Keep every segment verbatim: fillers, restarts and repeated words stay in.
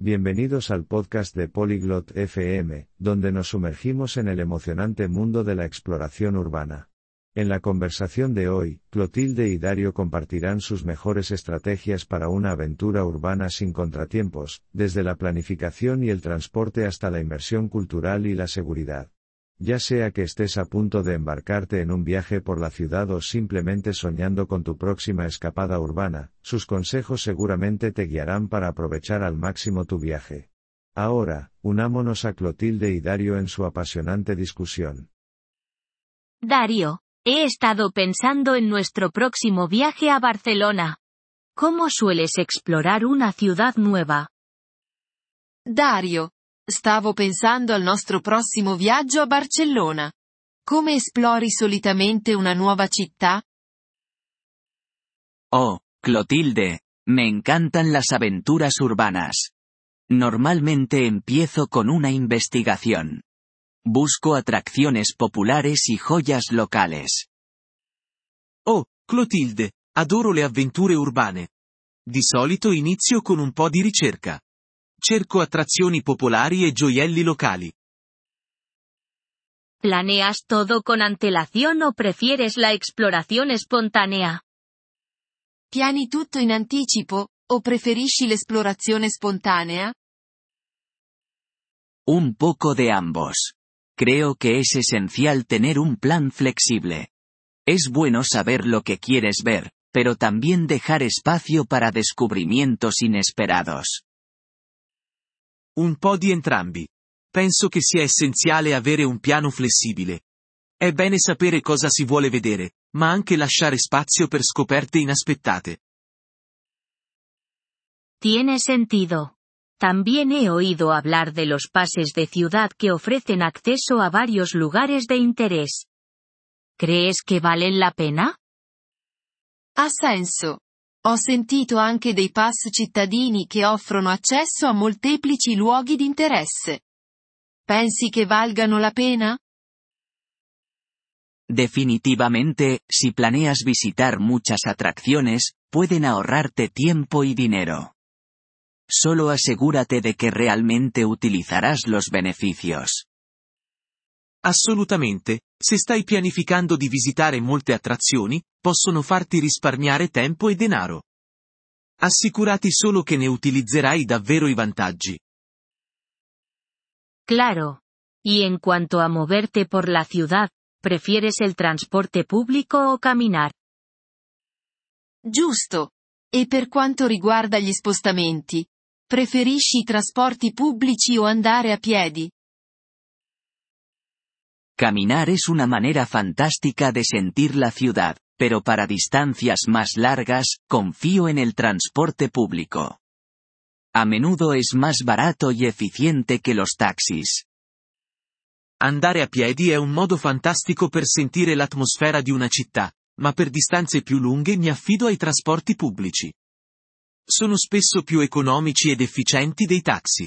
Bienvenidos al podcast de Polyglot F M, donde nos sumergimos en el emocionante mundo de la exploración urbana. En la conversación de hoy, Clotilde y Dario compartirán sus mejores estrategias para una aventura urbana sin contratiempos, desde la planificación y el transporte hasta la inmersión cultural y la seguridad. Ya sea que estés a punto de embarcarte en un viaje por la ciudad o simplemente soñando con tu próxima escapada urbana, sus consejos seguramente te guiarán para aprovechar al máximo tu viaje. Ahora, unámonos a Clotilde y Dario en su apasionante discusión. Dario, he estado pensando en nuestro próximo viaje a Barcelona. ¿Cómo sueles explorar una ciudad nueva? Dario, stavo pensando al nostro prossimo viaggio a Barcellona. Come esplori solitamente una nuova città? Oh, Clotilde, me encantan las aventuras urbanas. Normalmente empiezo con una investigación. Busco atracciones populares y joyas locales. Oh, Clotilde, adoro le avventure urbane. Di solito inizio con un po' di ricerca. Cerco attrazioni popolari e gioielli locali. ¿Planeas todo con antelación o prefieres la exploración espontánea? Piani tutto in anticipo, o preferisci l'esplorazione spontanea? Un poco de ambos. Creo que es esencial tener un plan flexible. Es bueno saber lo que quieres ver, pero también dejar espacio para descubrimientos inesperados. Un po' di entrambi. Penso che sia essenziale avere un piano flessibile. È bene sapere cosa si vuole vedere, ma anche lasciare spazio per scoperte inaspettate. Tiene sentido. También he oído hablar de los pases de ciudad que ofrecen acceso a varios lugares de interés. ¿Crees que valen la pena? Ha senso. Ho sentito anche dei pass cittadini che offrono accesso a molteplici luoghi di interesse. Pensi che valgano la pena? Definitivamente, si planeas visitar muchas atracciones, pueden ahorrarte tiempo y dinero. Solo asegúrate de que realmente utilizarás los beneficios. Assolutamente, se stai pianificando di visitare molte attrazioni, possono farti risparmiare tempo e denaro. Assicurati solo che ne utilizzerai davvero i vantaggi. Claro. Y en cuanto a moverte por la ciudad, ¿prefieres el transporte público o caminar? Giusto. E per quanto riguarda gli spostamenti? Preferisci i trasporti pubblici o andare a piedi? Caminar es una manera fantástica de sentir la ciudad, pero para distancias más largas, confío en el transporte público. A menudo es más barato y eficiente que los taxis. Andare a piedi è un modo fantastico per sentire l'atmosfera di una città, ma per distanze più lunghe mi affido ai trasporti pubblici. Sono spesso più economici ed efficienti dei taxi.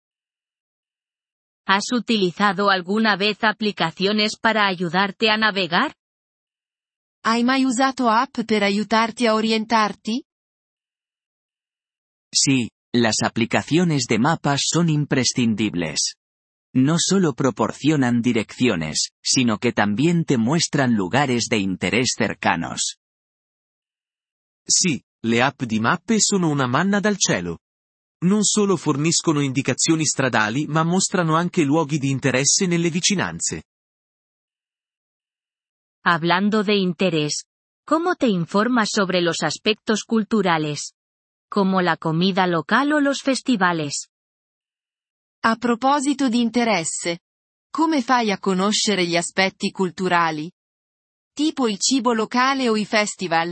¿Has utilizado alguna vez aplicaciones para ayudarte a navegar? Hai mai usato app per aiutarti a orientarti? Sí, las aplicaciones de mapas son imprescindibles. No solo proporcionan direcciones, sino que también te muestran lugares de interés cercanos. Sì, le app di mappe sono una manna dal cielo. Non solo forniscono indicazioni stradali ma mostrano anche luoghi di interesse nelle vicinanze. Hablando de interés, ¿cómo te informas sobre los aspectos culturales? Como la comida local o los festivales. A proposito di interesse. Come fai a conoscere gli aspetti culturali? Tipo il cibo locale o i festival?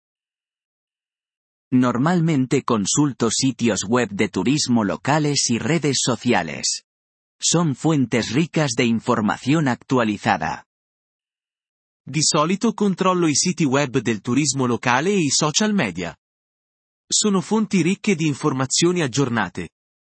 Normalmente consulto sitios web de turismo locales y redes sociales. Son fuentes ricas de información actualizada. Di solito controllo i siti web del turismo locale e i social media. Sono fonti ricche di informazioni aggiornate.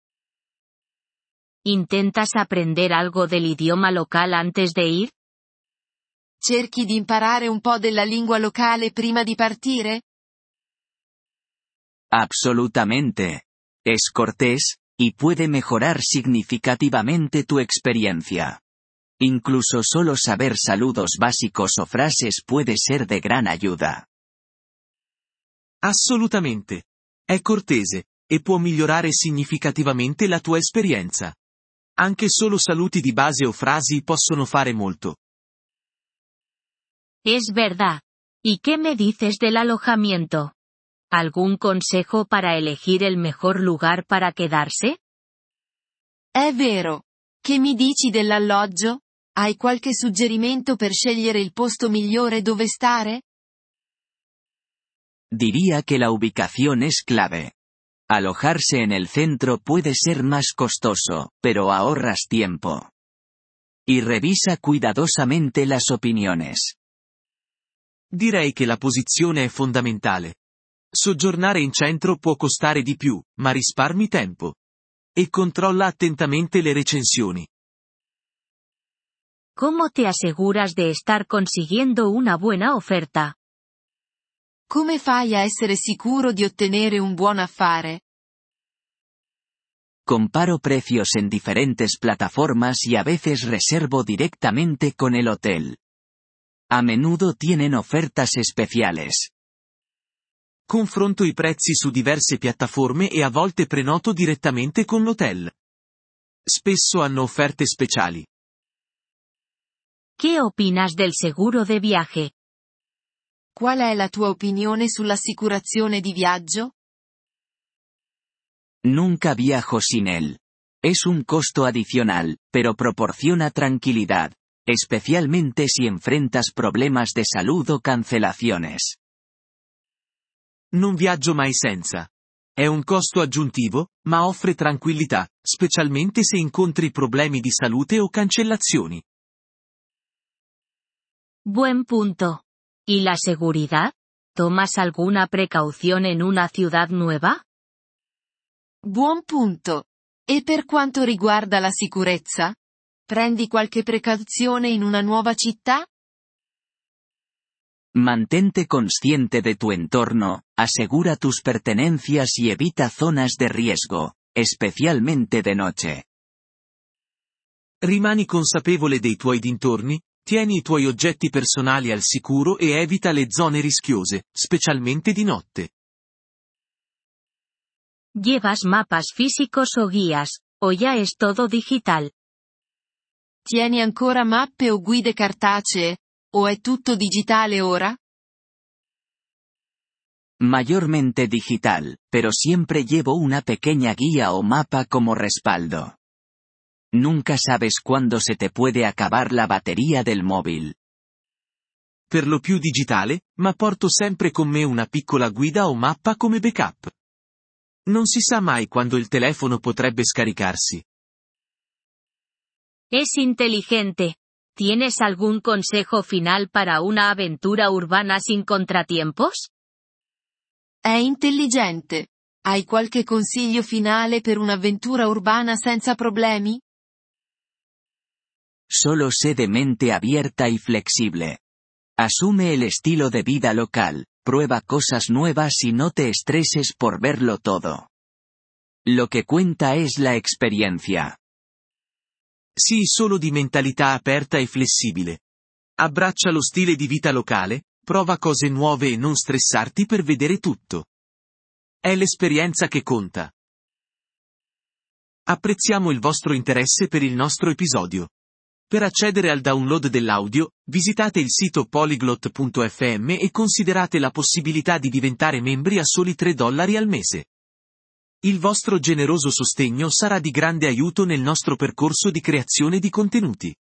¿Intentas aprender algo del idioma local antes de ir? Cerchi di imparare un po' della lingua locale prima di partire? Absolutamente. Es cortés, y puede mejorar significativamente tu experiencia. Incluso solo saber saludos básicos o frases puede ser de gran ayuda. Assolutamente. È cortese, e può migliorare significativamente la tua esperienza. Anche solo saluti di base o frasi possono fare molto. Es verdad. ¿Y qué me dices del alojamiento? ¿Algún consejo para elegir el mejor lugar para quedarse? È vero. Che mi dici dell'alloggio? Hai qualche suggerimento per scegliere il posto migliore dove stare? Diría que la ubicación es clave. Alojarse en el centro puede ser más costoso, pero ahorras tiempo. Y revisa cuidadosamente las opiniones. Direi che la posizione è fondamentale. Soggiornare in centro può costare di più, ma risparmi tempo. E controlla attentamente le recensioni. ¿Cómo te aseguras de estar consiguiendo una buena oferta? Come fai a essere sicuro di ottenere un buon affare? Comparo precios en diferentes plataformas y a veces reservo directamente con el hotel. A menudo tienen ofertas especiales. Confronto i prezzi su diverse piattaforme e a volte prenoto direttamente con l'hotel. Spesso hanno offerte speciali. ¿Qué opinas del seguro de viaje? Qual è la tua opinione sull'assicurazione di viaggio? Nunca viajo sin él. Es un costo adicional, pero proporciona tranquilidad, especialmente si enfrentas problemas de salud o cancelaciones. Non viaggio mai senza. È un costo aggiuntivo, ma offre tranquillità, specialmente se incontri problemi di salute o cancellazioni. Buen punto. ¿Y la seguridad? ¿Tomas alguna precaución en una ciudad nueva? Buon punto. E per quanto riguarda la sicurezza? Prendi qualche precauzione in una nuova città? Mantente consciente de tu entorno, asegura tus pertenencias y evita zonas de riesgo, especialmente de noche. Rimani consapevole dei tuoi dintorni, tieni i tuoi oggetti personali al sicuro e evita le zone rischiose, specialmente di notte. ¿Llevas mapas físicos o guías, o ya es todo digital? Tieni ancora mappe o guide cartacee? ¿O è tutto digitale ora? Mayormente digital, pero siempre llevo una pequeña guía o mapa como respaldo. Nunca sabes cuándo se te puede acabar la batería del móvil. Per lo più digitale, ma porto sempre con me una piccola guida o mappa come backup. Non si sa mai quando il telefono potrebbe scaricarsi. Es inteligente. ¿Tienes algún consejo final para una aventura urbana sin contratiempos? È intelligente. Hai qualche consiglio finale per un'avventura urbana senza problemi? Solo sé de mente abierta y flexible. Asume el estilo de vida local, prueba cosas nuevas y no te estreses por verlo todo. Lo que cuenta es la experiencia. Sii solo di mentalità aperta e flessibile. Abbraccia lo stile di vita locale, prova cose nuove e non stressarti per vedere tutto. È l'esperienza che conta. Apprezziamo il vostro interesse per il nostro episodio. Per accedere al download dell'audio, visitate il sito polyglot punto effe emme e considerate la possibilità di diventare membri a soli tre dollari al mese. Il vostro generoso sostegno sarà di grande aiuto nel nostro percorso di creazione di contenuti.